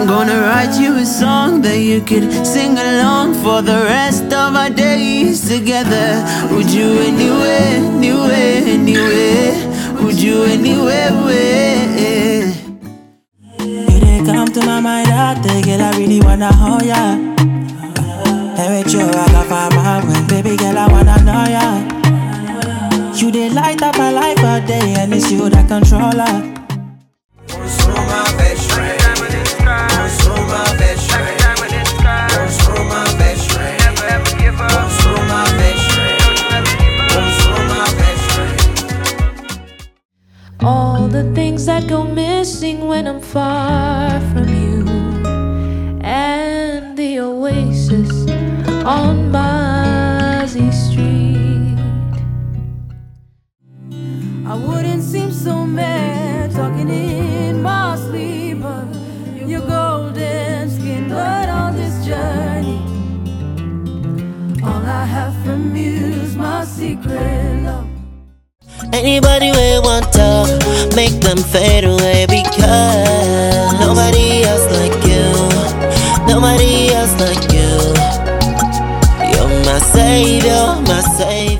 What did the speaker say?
I'm gonna write you a song that you could sing along for the rest of our days together. Would you anywhere, anywhere, anywhere? Would you anywhere, where? You didn't come to my mind out there, girl, I really wanna hold ya. And with you, I can find my way, baby girl, I wanna know ya. You did light up my life all day, and it's you that control her. All the things that go missing when I'm far from you, and the oasis on Mozzie Street. I wouldn't seem so mad talking in my sleep, but your golden skin, but on this journey, all I have from you is my secret love. Anybody will want to make them fade away, because nobody else like you, nobody else like you. You're my savior, my savior.